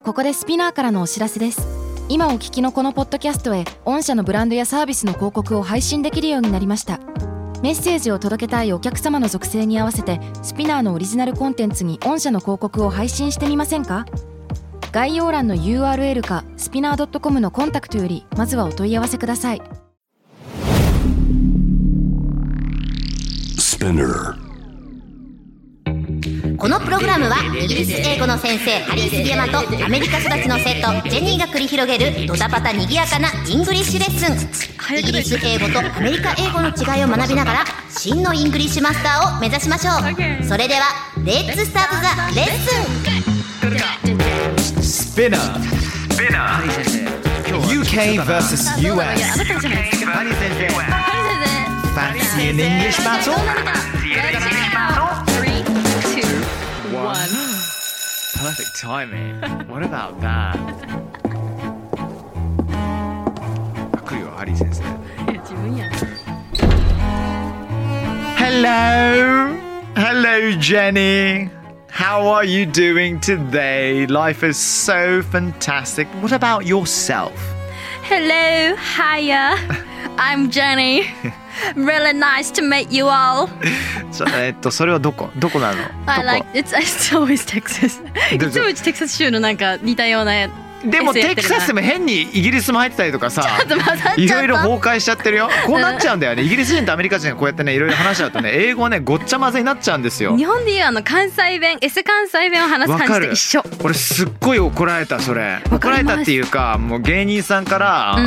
ここでスピナーからのお知らせです。今お聞きのこのポッドキャストへ御社のブランドやサービスの広告を配信できるようになりました。メッセージを届けたいお客様の属性に合わせてスピナーのオリジナルコンテンツに御社の広告を配信してみませんか？概要欄の URL かスピナー .com のコンタクトよりまずはお問い合わせください。 このプログラムはイギリス英語の先生ハリー杉山とアメリカ育ちの生徒ジェニーが繰り広げるドタパタにぎやかなイングリッシュレッスン。イギリス英語とアメリカ英語の違いを学びながら真のイングリッシュマスターを目指しましょう。それではレッツスタートザレッスン。 スピナー UK vs US Fancy an English battle? 1 Perfect timing. What about that? 来るよ、ハリー先生。 自分や。 Hello, Jenny. How are you doing today? Life is so fantastic. What about yourself? Hello, hiya. I'm Jenny. Really nice to meet you all. それはどこなの？ I like it's always Texas. いつもうちテキサス州のなんか似たような。 でもテキサスでも変にイギリスも入ってたりとかさ、いろいろ崩壊しちゃってるよ。こうなっちゃうんだよね。イギリス人とアメリカ人がこうやってねいろいろ話し合うとね、英語はねごっちゃ混ぜになっちゃうんですよ。 日本でいう関西弁、関西弁を話す感じと一緒。 俺すっごい怒られたそれ。怒られたっていうかもう芸人さんから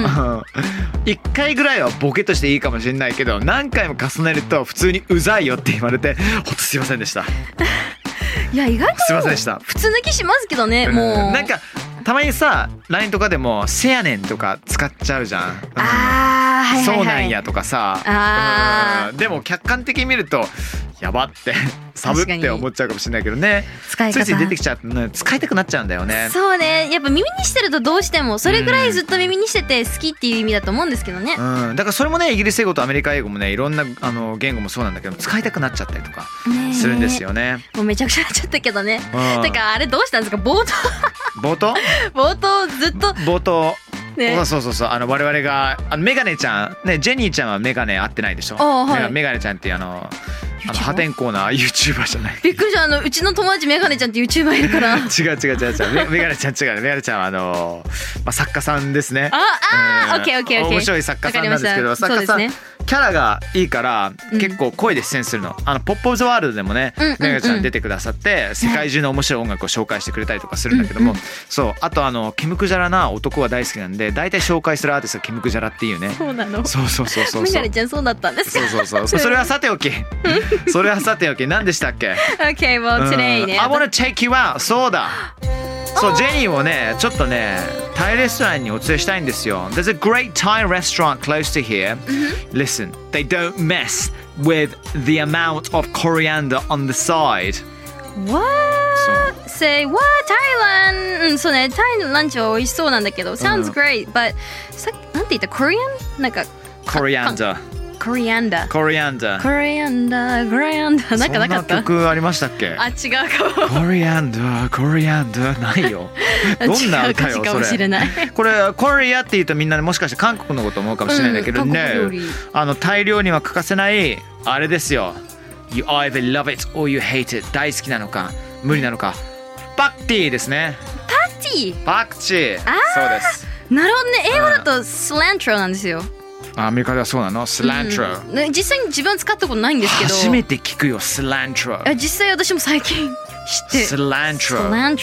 、1回ぐらいはボケとしていいかもしれないけど何回も重ねると普通にうざいよって言われてほんとすいませんでした。 いや意外とすいませんでした。 普通抜きしますけどね、もうなんかたまにさ LINE とかでもせやねんとか使っちゃうじゃん。 はいはいはい、 そうなんやとかさ、でも客観的に見るとやばってサブって思っちゃうかもしれないけどね。 使い方ついつい出てきちゃうとね使いたくなっちゃうんだよね。 そうね、やっぱ耳にしてるとどうしてもそれぐらいずっと耳にしてて好きっていう意味だと思うんですけどね。 だからそれもねイギリス英語とアメリカ英語もねいろんな言語もそうなんだけど使いたくなっちゃったりとかするんですよね。 もうめちゃくちゃなっちゃったけどね。だからあれどうしたんですか冒頭ずっと冒頭ね、 そう我々がメガネちゃんねジェニーちゃんはメガネ合ってないでしょ。 はい、 メガネちゃんっていう破天荒な YouTuber じゃない。 びっくりした。うちの友達メガネちゃんって YouTuber いるから。違うメガネちゃん違う。メガネちゃんは作家さんですね。 オッケー。 面白い作家さんなんですけど、作家さん、キャラがいいから結構声で出演するの。ポップオブザワールドでもね、メガネちゃん出てくださって世界中の面白い音楽を紹介してくれたりとかするんだけども、そうあとケムクジャラな男は大好きなんで大体紹介するアーティストがケムクジャラっていうね。 そうなの。 そうメガネちゃんそうだったんですか。 そうそれはさておき何でしたっけ。 Okay, well today ね、 I wanna take you out。 そうだ、そうジェニーをねちょっとねタイレストランにお連れしたいんですよ。 There's a great Thai restaurant close to here. Listen, they don't mess with the amount of coriander on the side. What? Say what? Thailand? そうね、タイのランチは美味しそうなんだけど Sounds great, but さっきなんて言った？ Korean? なんか Coriander コリアンダーなんかなかった？ そんな曲ありましたっけ？ 違うかも。 コリアンダーないよ。どんな歌よかもしれない。 これコリアって言うとみんなもしかして韓国のこと思うかもしれないんだけどね、タイ料理には欠かせないあれですよ。 You either love it or you hate it。 大好きなのか無理なのか。パクティですね。パクチー。そうです。 なるほどね。英語だとスラントロなんですよ。 アメリカではそうなの？スラントロ、 実際に自分は使ったことないんですけど初めて聞くよ。スラントロ実際私も最近知ってスラントロ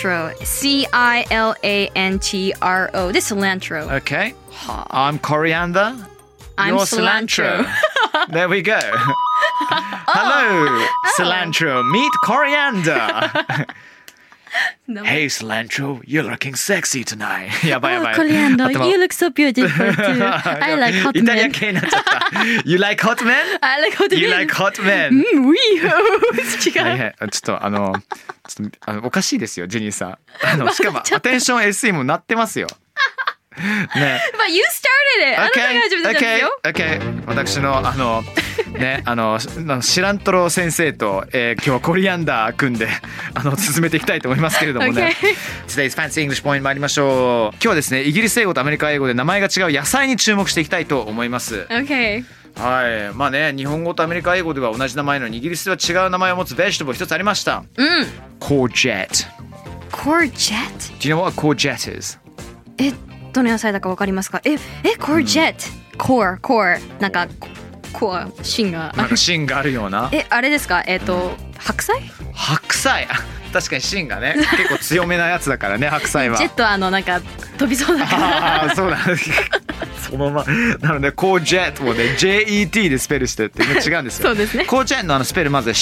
CILANTRO でスラントロ OK I'm coriander I'm You're cilantro There we go Hello cilantro Meet coriander Hey cilantro, you're looking sexy tonight. やばい。 Coriander, you look so beautiful too. I like hot men. イタリア系になっちゃった。You like hot men? I like hot men. You like hot men? 違う。 ちょっとおかしいですよジェニーさん。しかもアテンション SE も鳴ってますよ。 ね。 But you started it! あなたが始めたんですよ。 Okay. 私のね、シラントロ先生と、今日はコリアンダー組んで進めていきたいと思いますけれどもね。Today's Fancy English Point 参りましょう。今日はですね、イギリス英語とアメリカ英語で名前が違う野菜に注目していきたいと思います。 Okay. はい。まあね、日本語とアメリカ英語では同じ名前のにイギリスでは違う名前を持つベジタブル一つありました。Courgette. Courgette? Do you know what a courgette is? どの野菜だかわかりますか？Courgette. Core. なんかコア芯がなんか芯があるような。 あれですか？白菜？ 白菜。確かに芯がね、結構強めなやつだからね、白菜は。 ジェットなんか飛びそうだから。 あ、そうだ。そのままなのでコージェットもね JET でスペルしてって違うんですよ。 そうですね。 コージェットのスペルまず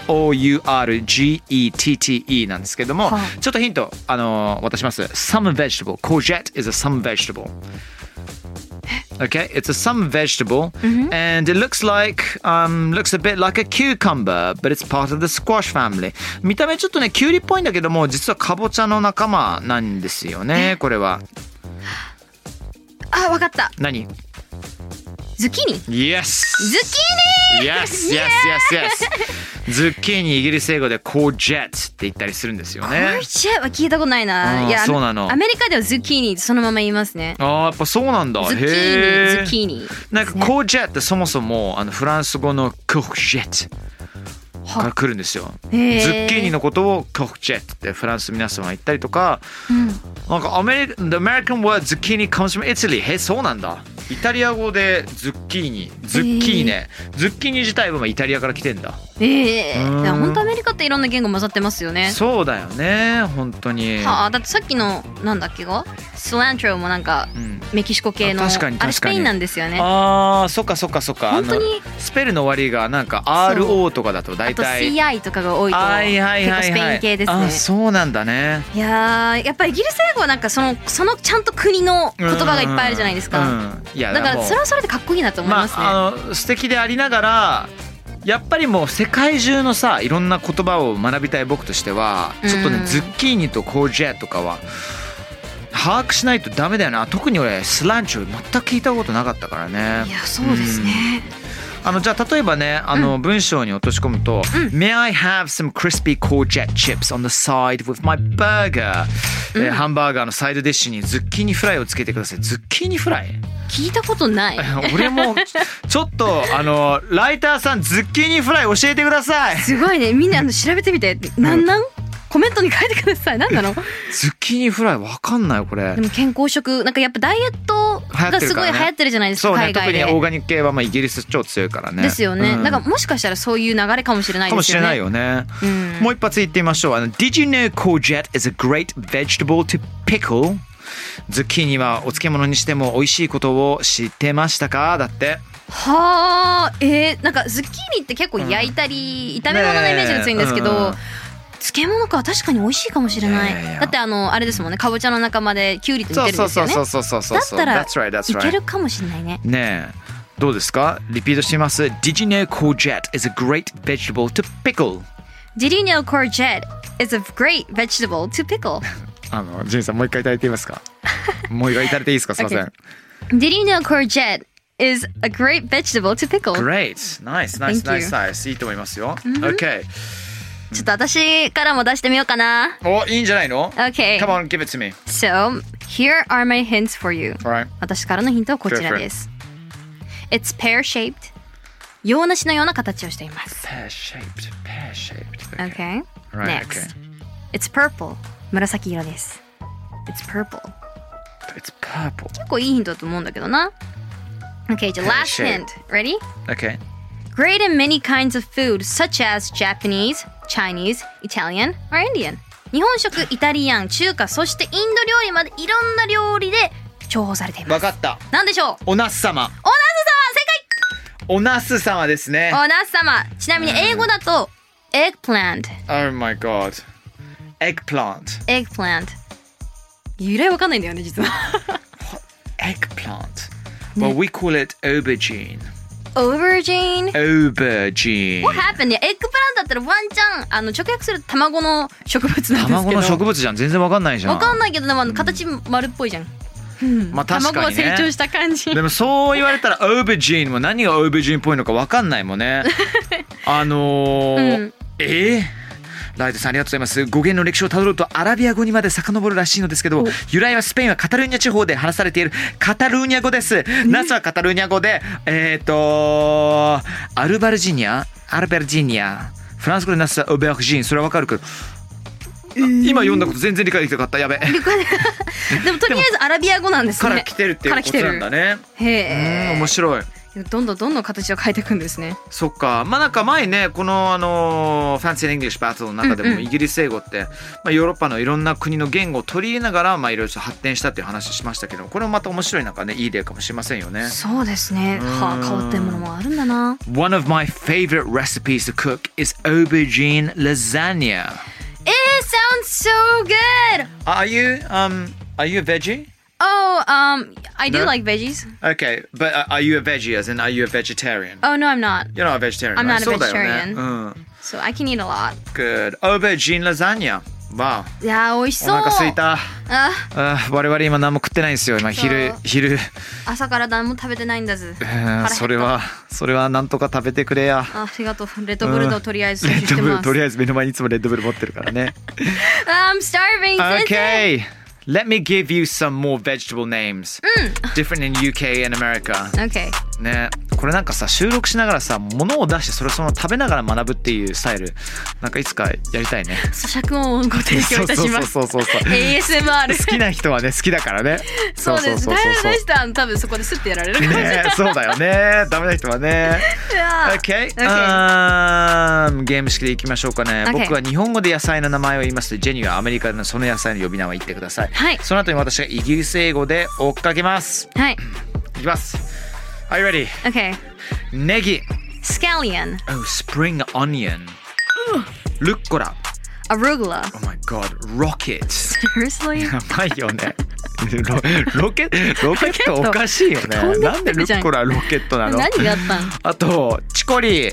COURGETTE なんですけども、ちょっとヒント渡します。Some vegetable. Courgette is a some vegetable. Okay, it's a some vegetable, and it looks a bit like a cucumber, but it's part of the squash family. 見た目ちょっとねキュウリっぽいんだけども、実はカボチャの仲間なんですよね。これは。 わかった。 何？ ズッキーニ。 Yes. ズッキーニ。 Yes.ズッキーニイギリス英語でコージェットって言ったりするんですよね。 コージェットは聞いたことないな。いや、 そうなの。 アメリカではズッキーニそのまま言いますね。 やっぱそうなんだ。 ズッキーニ。 なんかコージェットってそもそもフランス語のコージェットから来るんですよ。ズッキーニのことをコージェットってフランス皆さんは言ったりとか、なんかThe American word zucchini comes from Italy。そうなんだ。イタリア語でズッキーニ、ズッキーネ、ズッキーニ自体はイタリアから来てんだ。 本当アメリカっていろんな言語混ざってますよね。 そうだよね、本当に。 だってさっきのなんだっけがスラントロもなんか、メキシコ系のあれスペインなんですよね。 そっか。 本当にスペルの終わりがなんか RO とかだと大体。 あと CI とかが多いと結構スペイン系ですね。 そうなんだね。 いややっぱりイギリス英語はなんかそのちゃんと国の言葉がいっぱいあるじゃないですか。だからそれはそれでかっこいいなと思いますね。 素敵でありながらやっぱりもう世界中のさいろんな言葉を学びたい僕としてはちょっとね、ズッキーニとコージェットとかは把握しないとダメだよな。特に俺スランチョ全く聞いたことなかったからね。 いやそうですね。 じゃあ例えばね文章に落とし込むと、May I have some crispy courgette chips on the side with my burger、ハンバーガーのサイドディッシュにズッキーニフライをつけてください。ズッキーニフライ聞いたことない。 俺もちょっとライターさんズッキーニフライ教えてください。 すごいね。みんな調べてみて。なんコメントに書いてください。何なの？ ズッキーニフライわかんないこれ。 でも健康食なんかやっぱダイエットがすごい流行ってるじゃないですか。 そうね、 海外で。 特にオーガニック系はイギリス超強いからね。 ですよね。なんかもしかしたらそういう流れかもしれないですよね。 かもしれないよね。もう一発言ってみましょう。Did you know courgette is a great vegetable to pickle？ ズッキーニはお漬物にしても美味しいことを知ってましたか？だって。 はあ、なんかズッキーニって結構焼いたり、炒め物のイメージが強いんですけど。漬物か確かに美味しいかもしれない。だってあれですもんね、かぼちゃの仲間でキュウリと似てるんですよね。だったらいけるかもしれないね。 ねえどうですか？リピートしてみます。 Did you know courgette is a great vegetable to pickle? Did you know courgette is a great vegetable to pickle? ジェンさんもう一回いただいていいですか？もう一回いただいていいですか？すいません。 Did you know courgette is a great vegetable to pickle? Great, nice. いいと思いますよ。Okay。 ちょっと私からも出してみようかな。 いいんじゃないの？ Okay. Come on, give it to me. So, here are my hints for you. Alright. 私からのヒントはこちらです。It's pear-shaped. 洋梨のような形をしています。 Pear-shaped. Okay. Right, Next. It's purple. 紫色です。It's purple. It's purple. 結構いいヒントだと思うんだけどな。Okay, じゃあ last hint. Ready? Okay. Great in many kinds of food, such as Japanese, Chinese, Italian, or Indian. 日本食、イタリアン、中華、そしてインド料理までいろんな料理で重宝されています。 わかった。 なんでしょう？ おナス様。 正解。 おナス様ですね。 おナス様。ちなみに英語だと eggplant。 Oh my god. Eggplant。 由来わかんないんだよね実は。 Eggplant。Well, we call it aubergine。Aubergine? Aubergine。What happened? エッグプランだったらワンチャン直訳すると卵の植物なんですけど。 卵の植物じゃん。全然わかんないじゃん。 わかんないけどでも形丸っぽいじゃん。 まあ確かにね。 卵が成長した感じ。 でもそう言われたらオーバージーンも何がオーバージーンっぽいのか分かんないもんね。ライトさんありがとうございます。語源の歴史をたどるとアラビア語にまで遡るらしいのですけど、由来はスペインはカタルーニャ地方で話されているカタルーニャ語です。ナスはカタルーニャ語でアルベルジニア、フランス語でナスはオーベルジーン、それは分かるけど、今読んだこと全然理解できなかった。やべ。 でもとりあえずアラビア語なんですね。 から来てるっていうことなんだね。 へえ。 面白い。 どんどん形を変えていくんですね。 そっか。まあなんか前ね、このファンシー・イングリッシュ・バトルの中でもイギリス英語って、まあ、ヨーロッパのいろんな国の言語を取り入れながら、まあいろいろ発展したっていう話しましたけど、これもまた面白いなんかね、いい例かもしれませんよね。 そうですね。変わったものもあるんだな。 One of my favorite recipes to cook is aubergine lasagna. Sounds so good. Are you a veggie? Oh, I do like veggies. Okay, but are you a veggie? As in, are you a vegetarian? Oh no, I'm not. You're not a vegetarian. I'm not a そうだよね。 vegetarian. So I can eat a lot. Good. Aubergine lasagna. Wow. いやー美味しそう。 お腹すいた。我々今何も食ってないんですよ。今昼。 朝から何も食べてないんだず。 それはなんとか食べてくれや。 ありがとう。レッドブルととりあえず摂取してます。 とりあえず目の前にいつもレッドブル持ってるからね。 I'm starving. Okay. Let me give you some more vegetable names. Different in UK and America. Okay. ね、これなんかさ収録しながらさ物を出してそれをその食べながら学ぶっていうスタイルなんかいつかやりたいね。 咀嚼音をご提供いたします。 そう ASMR 好きな人はね好きだからね。 そうです。大変な人は多分そこですってやられるからね。そうだよね。ダメな人はね。Okay. ゲーム式でいきましょうかね。僕は日本語で野菜の名前を言いますとジェニーはアメリカのその野菜の呼び名を言ってください。 はい。 その後に私がイギリス英語で追っかけます。 はい。 いきます。Are you ready? Okay. ネギ。 Scallion. Oh, spring onion. ルッコラ。 Arugula. Oh my god, rocket. Seriously? やばいよね。ロケットおかしいよね。なんでルッコラロケットなの？ 何があったん？ あとチコリ。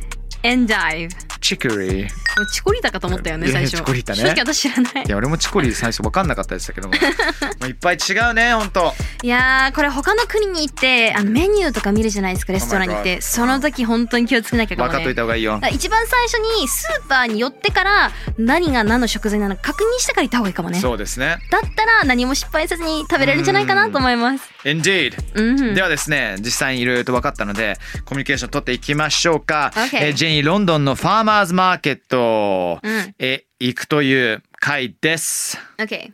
Endive. チコリ。 チコリータかと思ったよね最初。 チコリータね。 正直私知らない。 いや俺もチコリー最初分かんなかったでしたけども。いっぱい違うね本当。 いやーこれ他の国に行ってメニューとか見るじゃないですかレストランに行って、その時本当に気をつけなきゃかもね。 分かっといた方がいいよ。 一番最初にスーパーに寄ってから何が何の食材なのか確認してから行った方がいいかもね。 そうですね。 だったら何も失敗せずに食べれるんじゃないかなと思います。 Indeed、ではですね実際にいろいろと分かったのでコミュニケーション取っていきましょうか。ジェニーロンドンのファーマーズマーケットへ行くという回です。 Okay.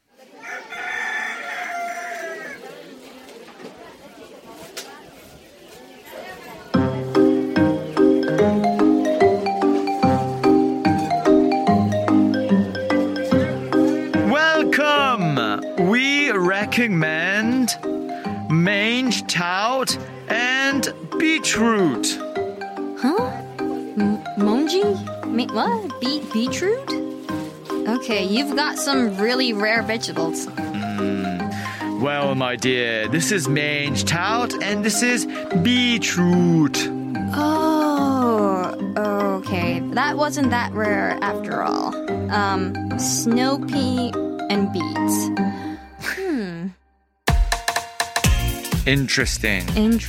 Welcome! We recommend mange tout and beetroot. Huh? Monji? What? Beetroot? Okay, you've got some really rare vegetables. Well, my dear, this is mange tout and this is beetroot. Oh, okay. That wasn't that rare after all. Snow pea and beets. Interesting.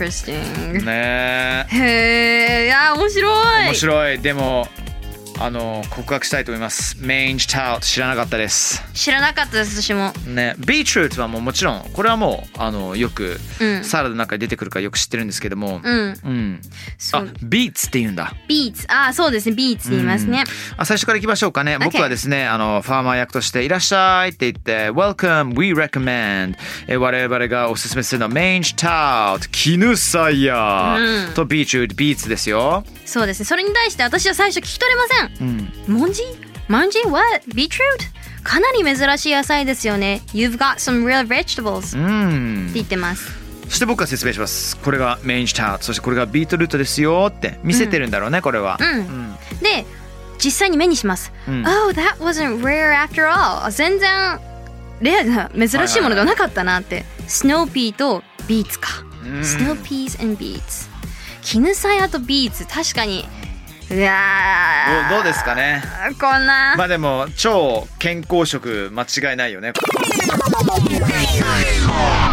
ねえ。へえ、いや面白い。 面白い。でも告白したいと思います。mange tout知らなかったです。 知らなかったです私も。 ね、ビートルートはもちろんこれはもうよくサラダの中に出てくるからよく知ってるんですけども、ビーツって言うんだ。 ビーツ、そうですね、ビーツって言いますね。 最初からいきましょうかね。僕はですねファーマー役としていらっしゃいって言って Welcome, we recommend、我々がおすすめするのは mange tout 絹さや、とビートルートビーツですよ。 そうですね。それに対して私は最初聞き取れません。モンジ What? Beetroot? かなり珍しい野菜ですよね。You've got some real vegetables、って言ってます。 そして僕が説明します。これがmange tout、そしてこれがビートルートですよって見せてるんだろうね、これは。 で実際に目にします。Oh, that wasn't rare after all. 全然レアな珍しいものではなかったなって。Snow pea とビーツか。Snow peas and beets。絹さやとビーツ、確かに。いやどうですかね。 こんな。 まあでも超健康食間違いないよね。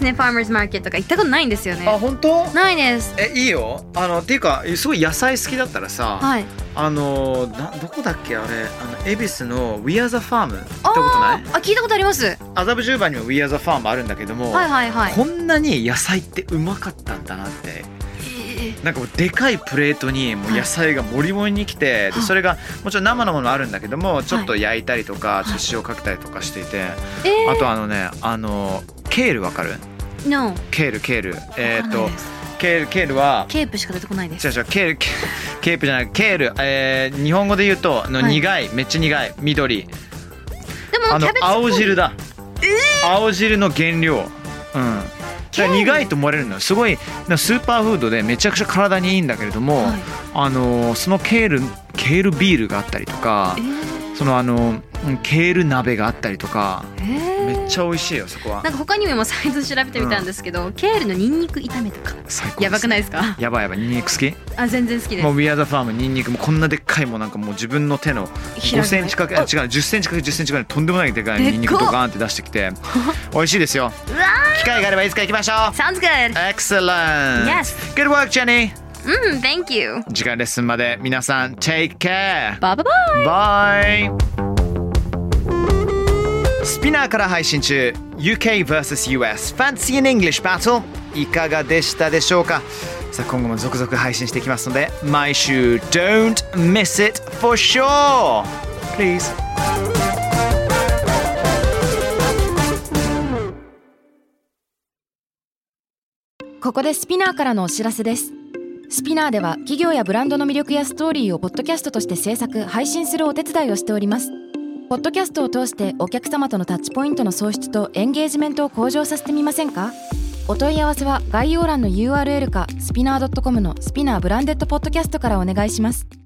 ですね。ファーマーズマーケットとか行ったことないんですよね。 あ、本当？ ないです。 いいよ。っていうかすごい野菜好きだったらさ、 はい、 どこだっけあれ、恵比寿の We Are the Farm 行ったことない？ 聞いたことあります。 麻布十番にも We Are the Farm あるんだけども、 はいはいはい、 こんなに野菜ってうまかったんだなって。なんかもうでかいプレートにもう野菜がもりもりにきて、でそれがもちろん生のものあるんだけども、ちょっと焼いたりとか、ちょっと塩かけたりとかしていて、あとケールわかる？ No。 ケールケールはケープしか出てこないです。 違うケープじゃない、ケール、日本語で言うと苦い、めっちゃ苦い緑。 でもキャベツ青汁だ。青汁の原料。苦いと思われるのよ。すごいスーパーフードでめちゃくちゃ体にいいんだけれども、そのケールビールがあったりとか、そのケール鍋があったりとか、めっちゃ美味しいよそこは。 なんか他にも今サイト調べてみたんですけど、ケールのニンニク炒めとか最高です。 やばくないですか？ やばいニンニク好き？ 全然好きです。 もう We Are the Farm ニンニクもこんなでっかい、もうなんかもう自分の手の5センチかけ10センチかけ10センチぐらいとんでもないでかいニンニクとガーンって出してきて美味しいですよ。機会があればいつか行きましょう。 Sounds good. Excellent. Yes. Good work, Jenny. Thank you. 次回レッスンまで皆さん Take care. Bye bye bye. Bye. スピナーから配信中 UK vs.US Fancy in English Battle いかがでしたでしょうか。さあ今後も続々配信していきますので毎週 Don't miss it for sure Please。 ここでスピナーからのお知らせです。スピナーでは企業やブランドの魅力やストーリーをポッドキャストとして制作・配信するお手伝いをしております。ポッドキャストを通してお客様とのタッチポイントの創出とエンゲージメントを向上させてみませんか？お問い合わせは概要欄の URL かスピナー .com のスピナーブランデッドポッドキャストからお願いします。